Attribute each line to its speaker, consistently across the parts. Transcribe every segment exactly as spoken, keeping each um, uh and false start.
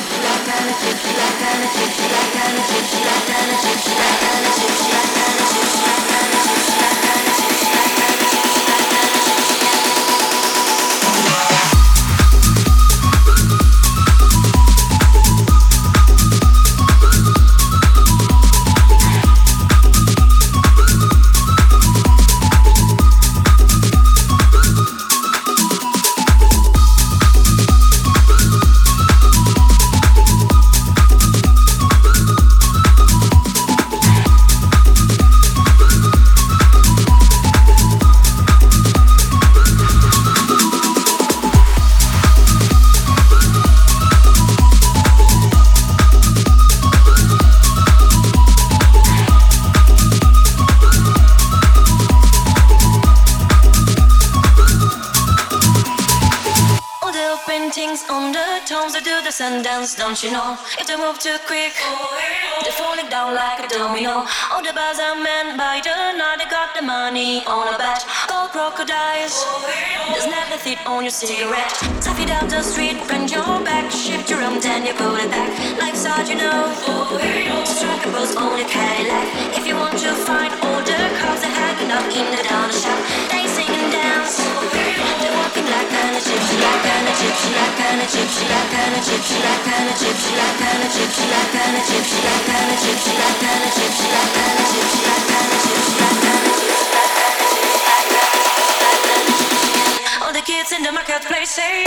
Speaker 1: Sundance, don't you know? If they move too quick, they're falling down like a domino. All the bars are men by the night, they got the money on a bet. Gold crocodiles, there's never fit on your cigarette. Stuff it down the street, bend your back, shift your arm, then you put it back. Life's hard, you know. Strike a pose on your Cadillac. If you want to find all the cars, they're hanging up in the dollar shop. They sing and dance, they're walking like an Egyptian, like an Egyptian, like an Egyptian, like an Egyptian, like an Egyptian, like an Egyptian, like an Egyptian, like an Egyptian, like an Egyptian, like an Egyptian, like an Egyptian, like an Egyptian. All the kids in the marketplace say.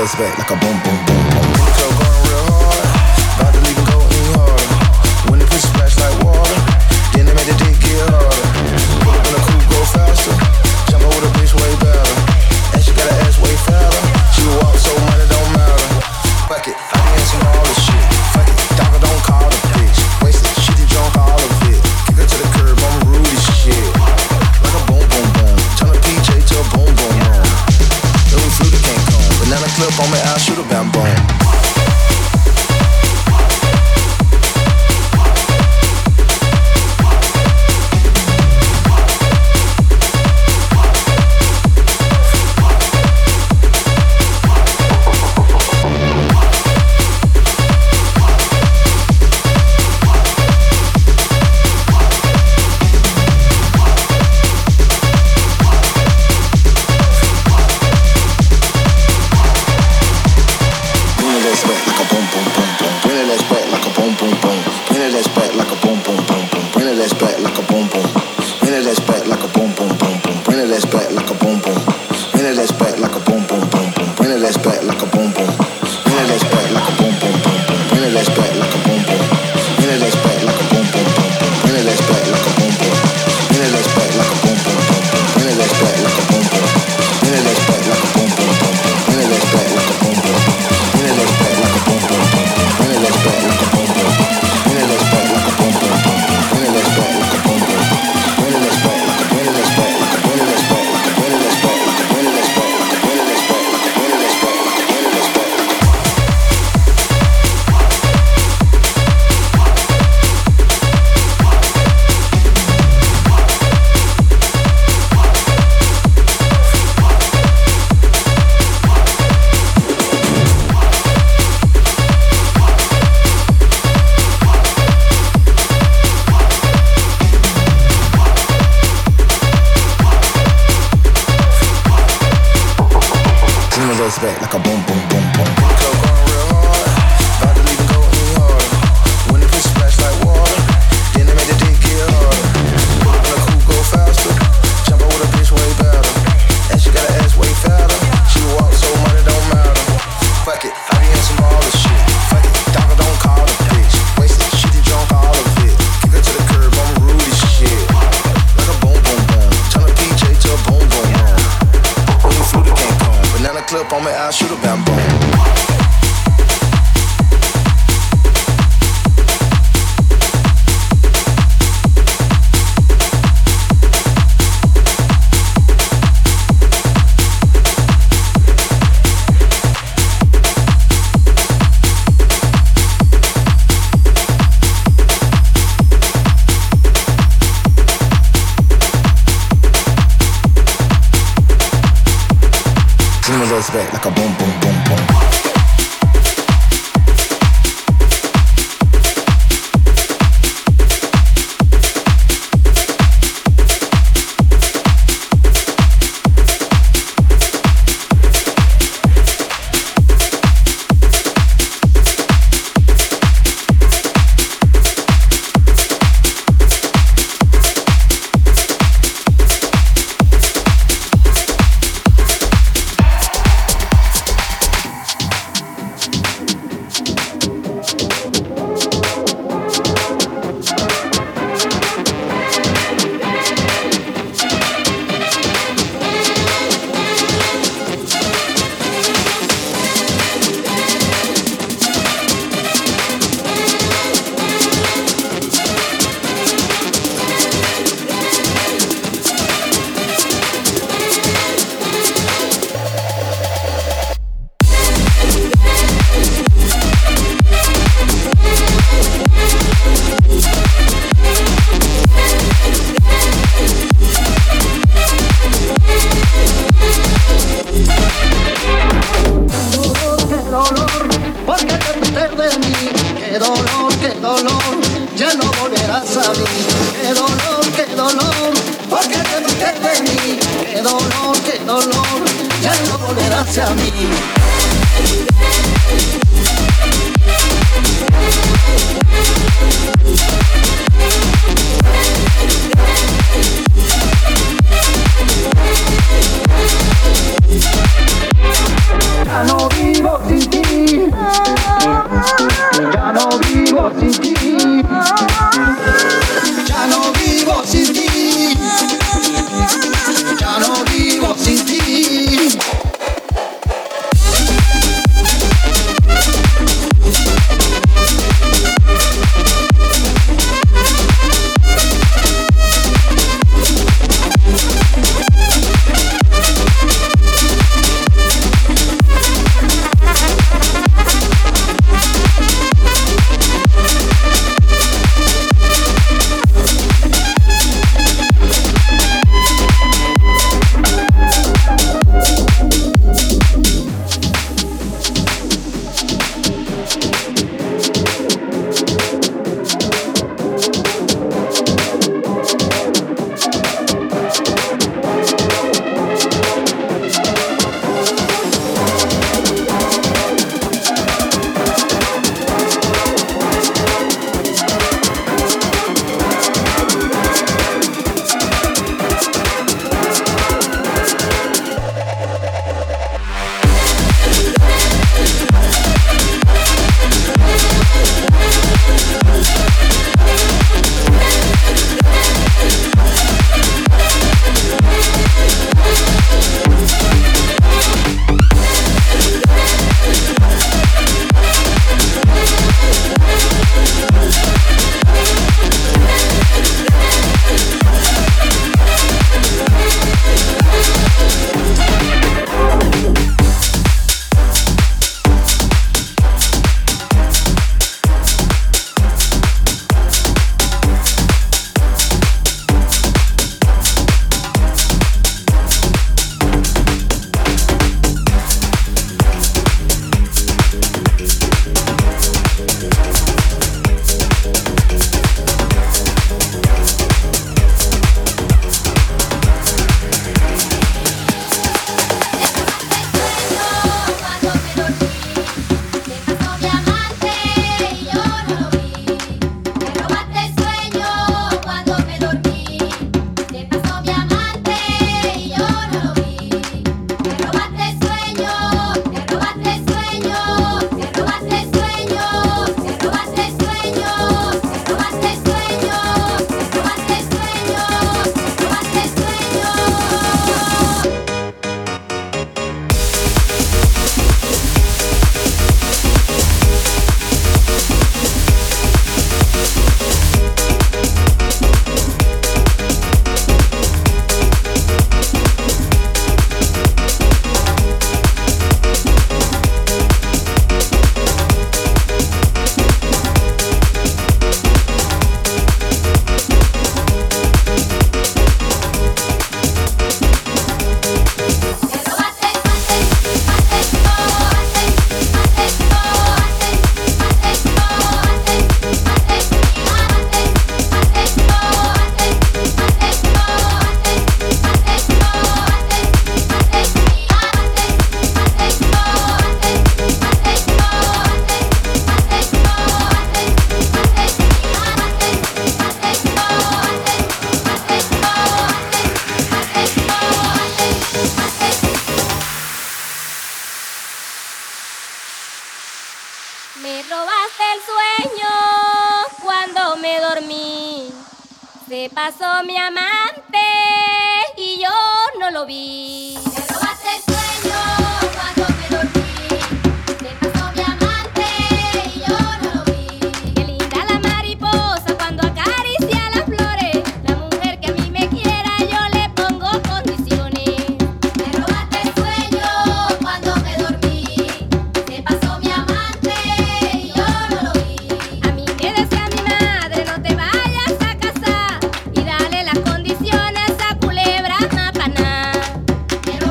Speaker 2: goes back like a boom, boom, boom, boom. In the club going real hard, about to leave and go even harder. When the pussy splash like water, then they make the dick get harder. Pull up in the coupe, go faster, jump over the bitch way better. And she got her ass way fatter, she walk so money don't matter. Fuck it, I be in some all this shit. Fuck it, doctor don't call the bitch. Wasted, she did drunk all of it. Kick her to the curb, I'm rude as shit. Like a boom, boom, boom. Turn a P J to a boom, boom, boom. Then we flew the King Kong. Banana clip on me, I'll shoot a bam, boom. Back like a boom, boom, boom, boom. In the club going real hard, about to leave and go even harder. When the pussy splash like water, then they make the dick get harder. Pull up in the coupe, go faster, jump over the bitch way better. And she got her ass way fatter, she walk so money don't matter. Fuck it, I be in some all this shit. Fuck it, doctor don't call the bitch. Wasted, she did drunk all of it. Kick her to the curb, I'm rude as shit. Like a boom, boom, boom. Turn a P J to a boom, boom, boom. When you flew the King Kong, banana clip on me, I'll shoot a bam, boom. Back like a boom, boom, boom, boom.
Speaker 3: hacia mí. Ya no vivo dormí. Se pasó mi amante y yo no lo vi.
Speaker 4: Me robaste el sueño cuando me dormí. Se pasó mi amante y yo no lo vi.
Speaker 3: Qué linda la mariposa cuando acaricia las flores. La mujer que a mí me quiera yo le pongo condiciones.
Speaker 4: Me robaste el sueño cuando me dormí. Se pasó mi amante y yo no lo vi.
Speaker 3: A mí me decía mi madre, no te vayas a casar y dale las condiciones a culebra mapaná.
Speaker 4: Me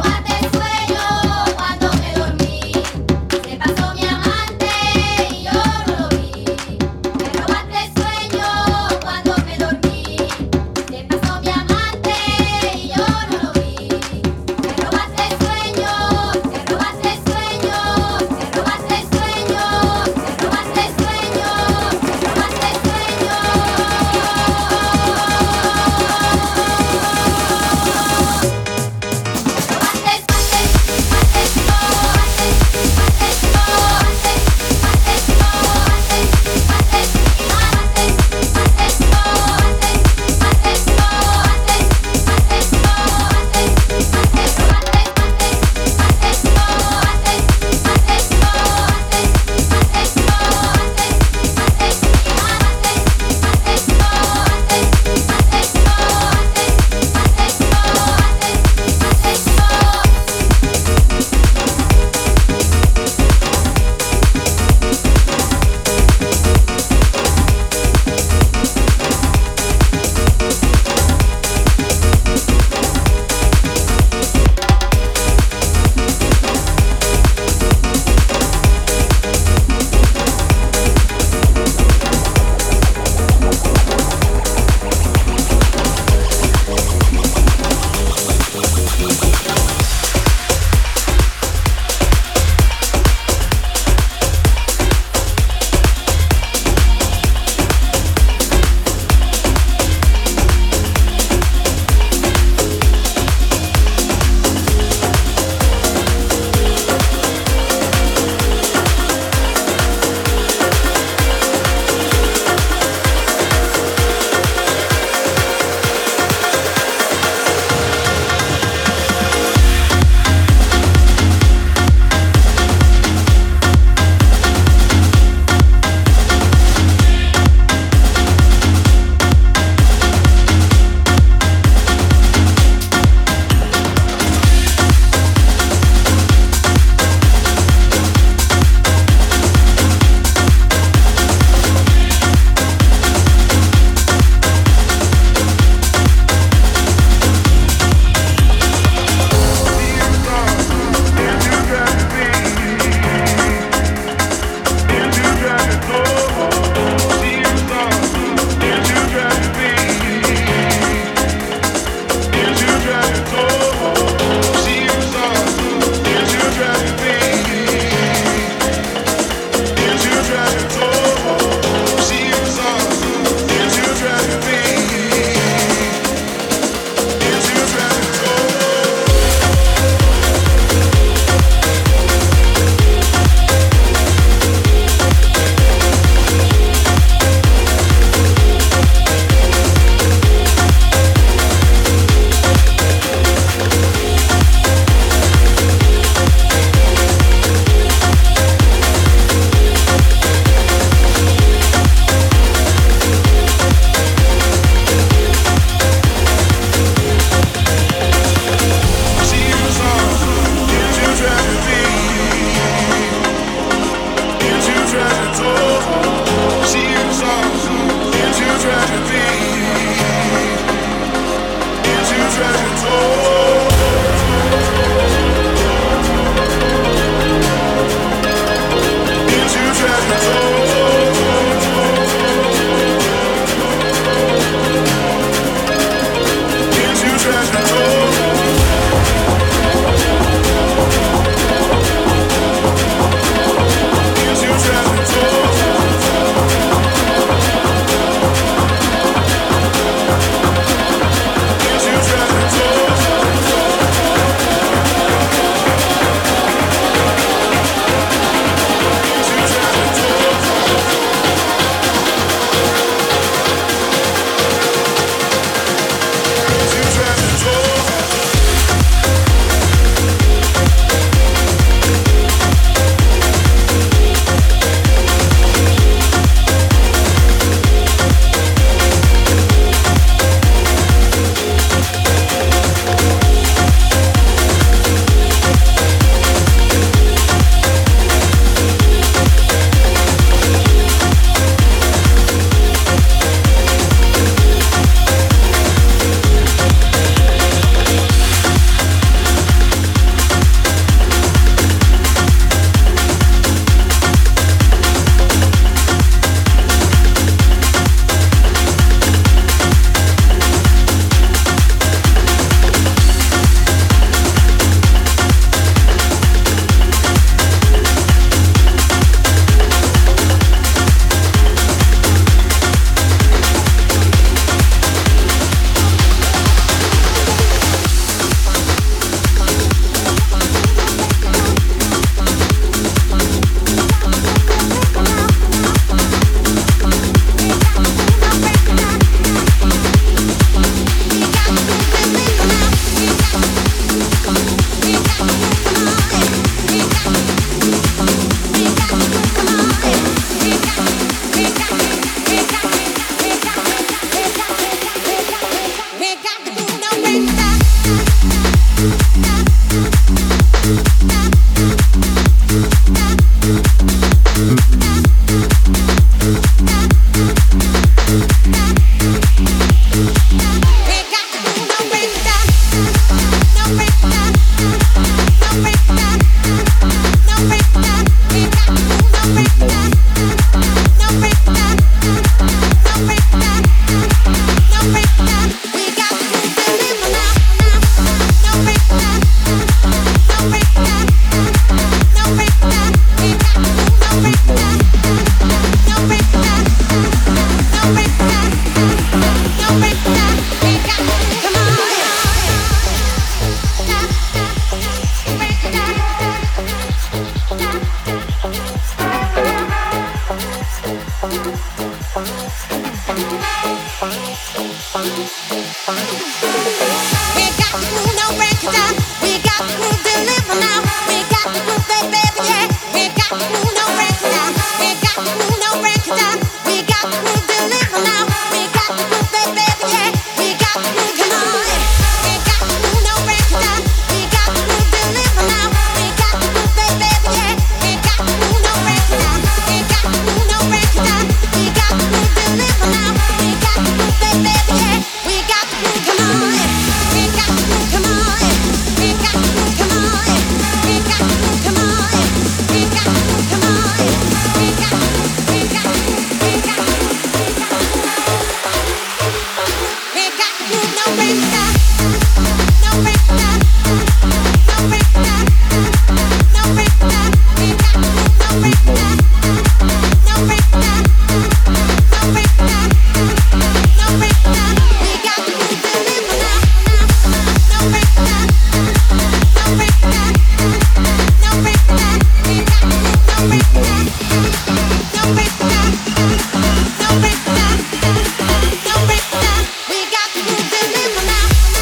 Speaker 4: We got to move the rhythm now.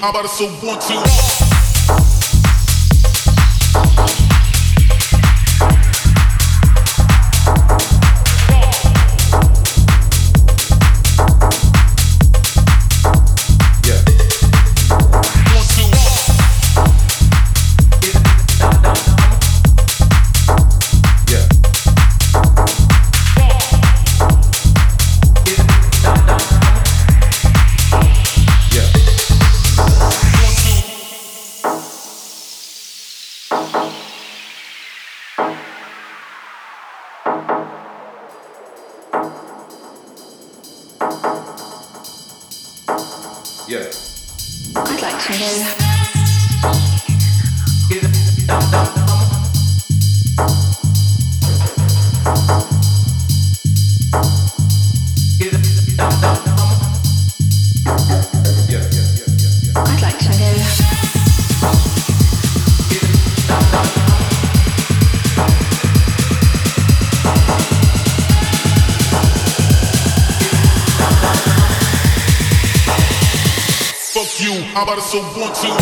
Speaker 5: How about a so one, two?
Speaker 2: How about a so one, two?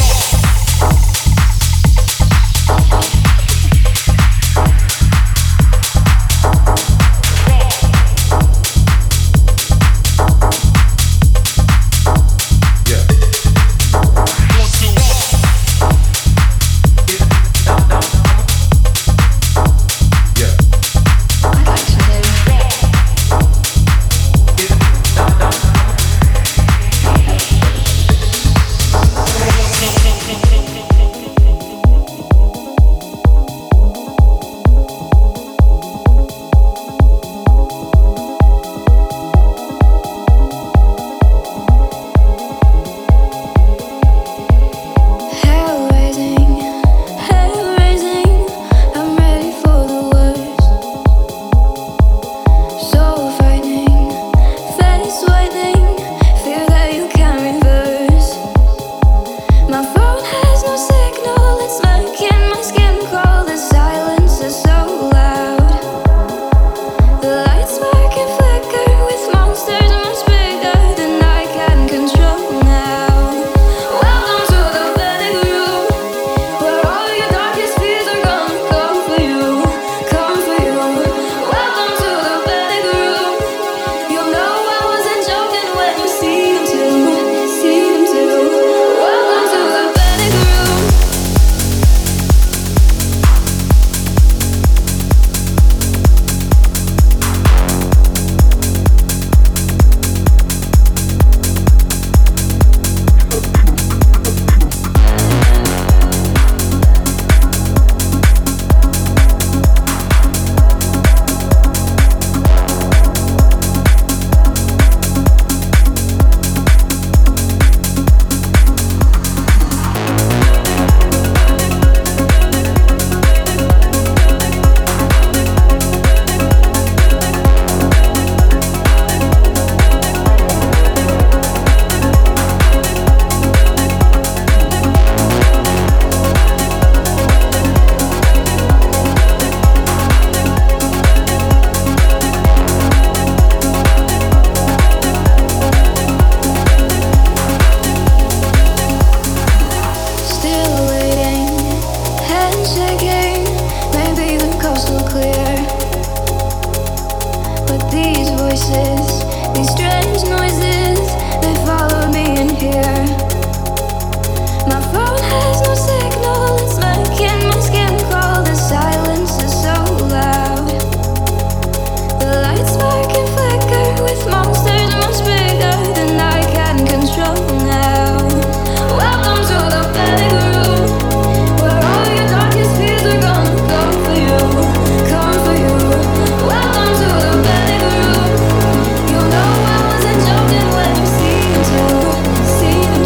Speaker 3: See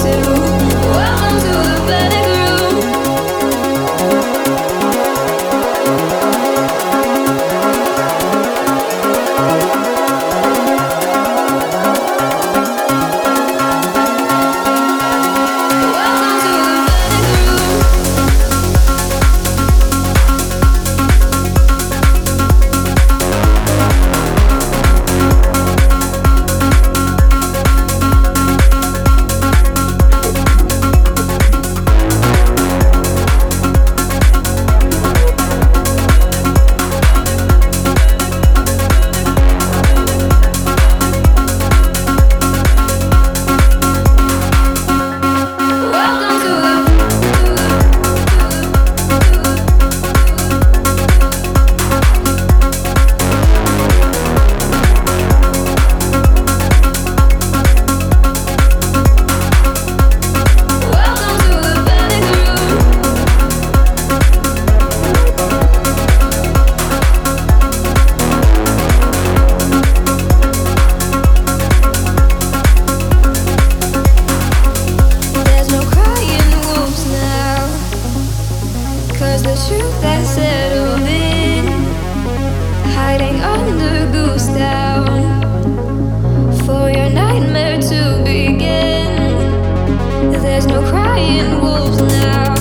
Speaker 5: that settled in, hiding under goose down for your nightmare to begin. There's no crying wolves now,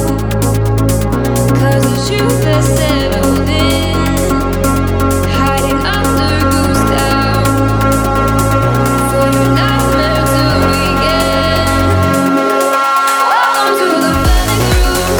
Speaker 5: 'cause the truth has settled in, hiding under goose down for your nightmare to begin. Welcome to the panic room.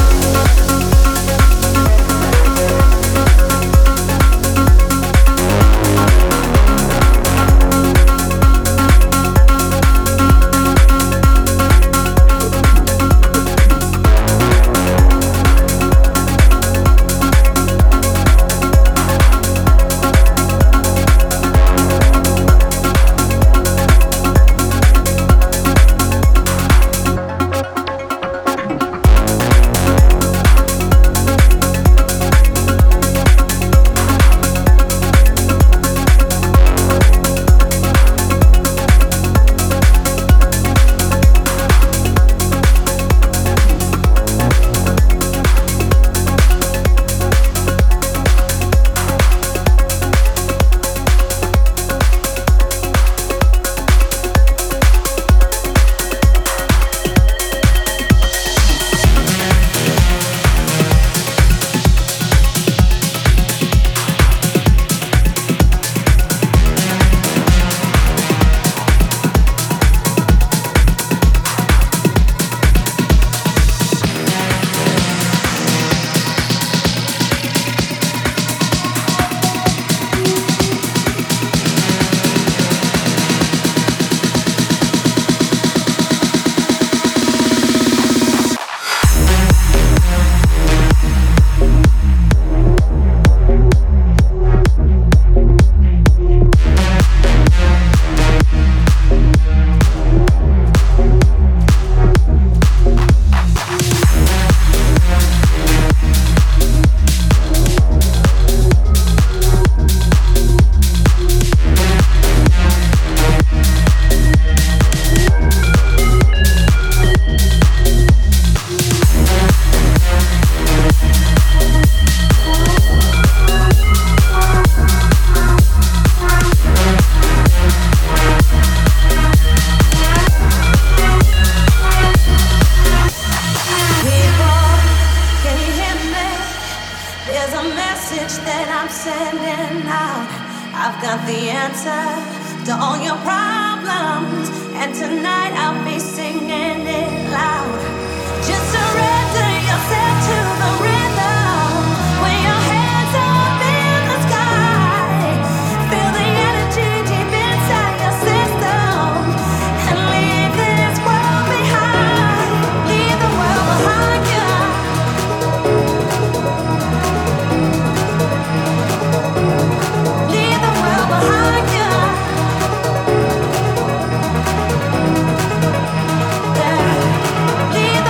Speaker 1: Leave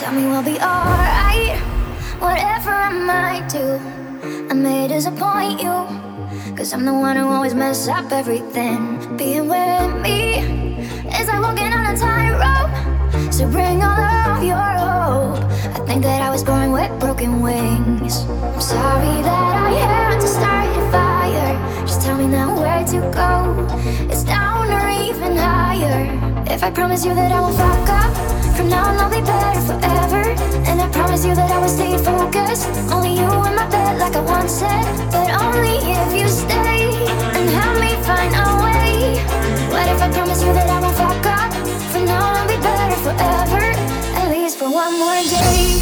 Speaker 3: Tell me we'll be alright, whatever I might do. I may disappoint you, cause I'm the one who always mess up everything. Being with me is like walking on a tightrope, so bring all of your hope. I think that I was born with broken wings. I'm sorry that I had to start a fire. Just tell me now where to go. It's down or even higher. If I promise you that I won't fuck up, from now on I'll be better forever. And I promise you that I will stay focused. Only you in my bed like I once said, but only if you stay and help me find a way. What if I promise you that I won't fuck up? From now on I'll be better forever, at least for one more day.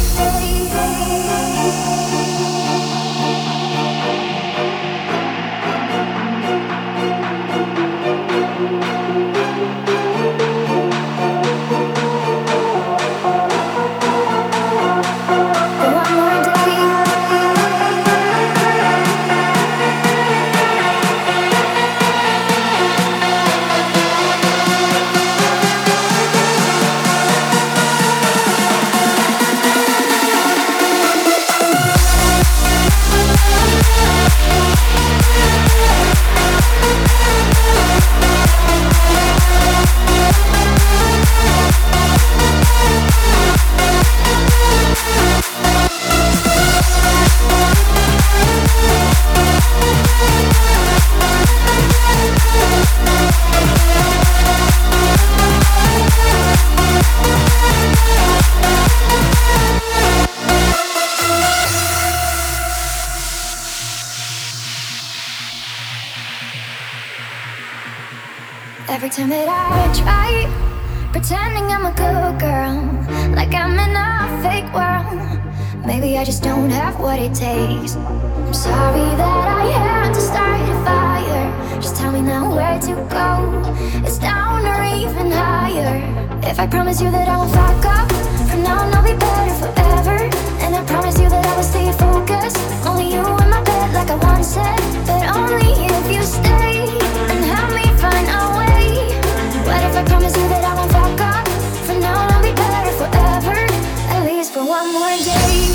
Speaker 3: Every time that I try pretending I'm a good girl, like I'm in a fake world, maybe I just don't have what it takes. I'm sorry that I had to start a fire. Just tell me now where to go. It's down or even higher. If I promise you that I won't fuck up, from now on I'll be better forever. And I promise you that I will stay focused. Only you in my bed like I once said, but only if you stay and help me find a way. What if I promise you that I won't fuck up? From now on I'll be better forever, at least for one more day.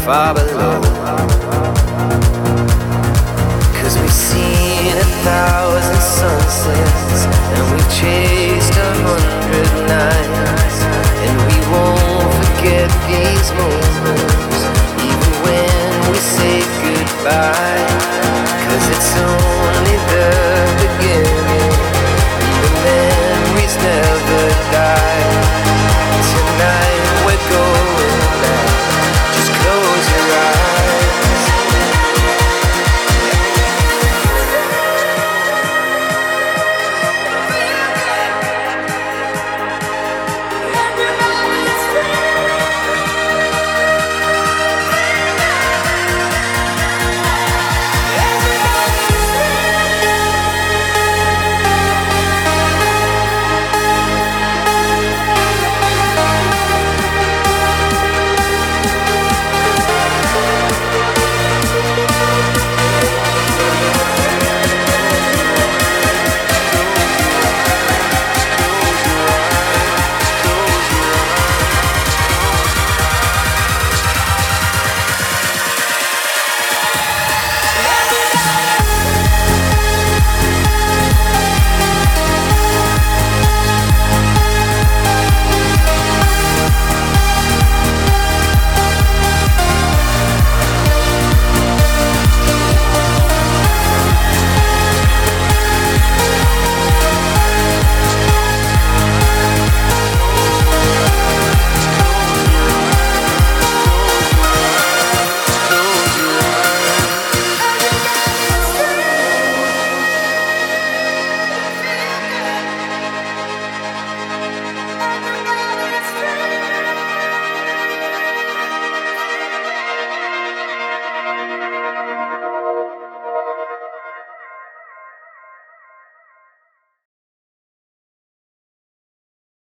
Speaker 6: far below. Cause we've seen a thousand sunsets, and we've chased a hundred nights, and we won't forget these moments, even when we say goodbye.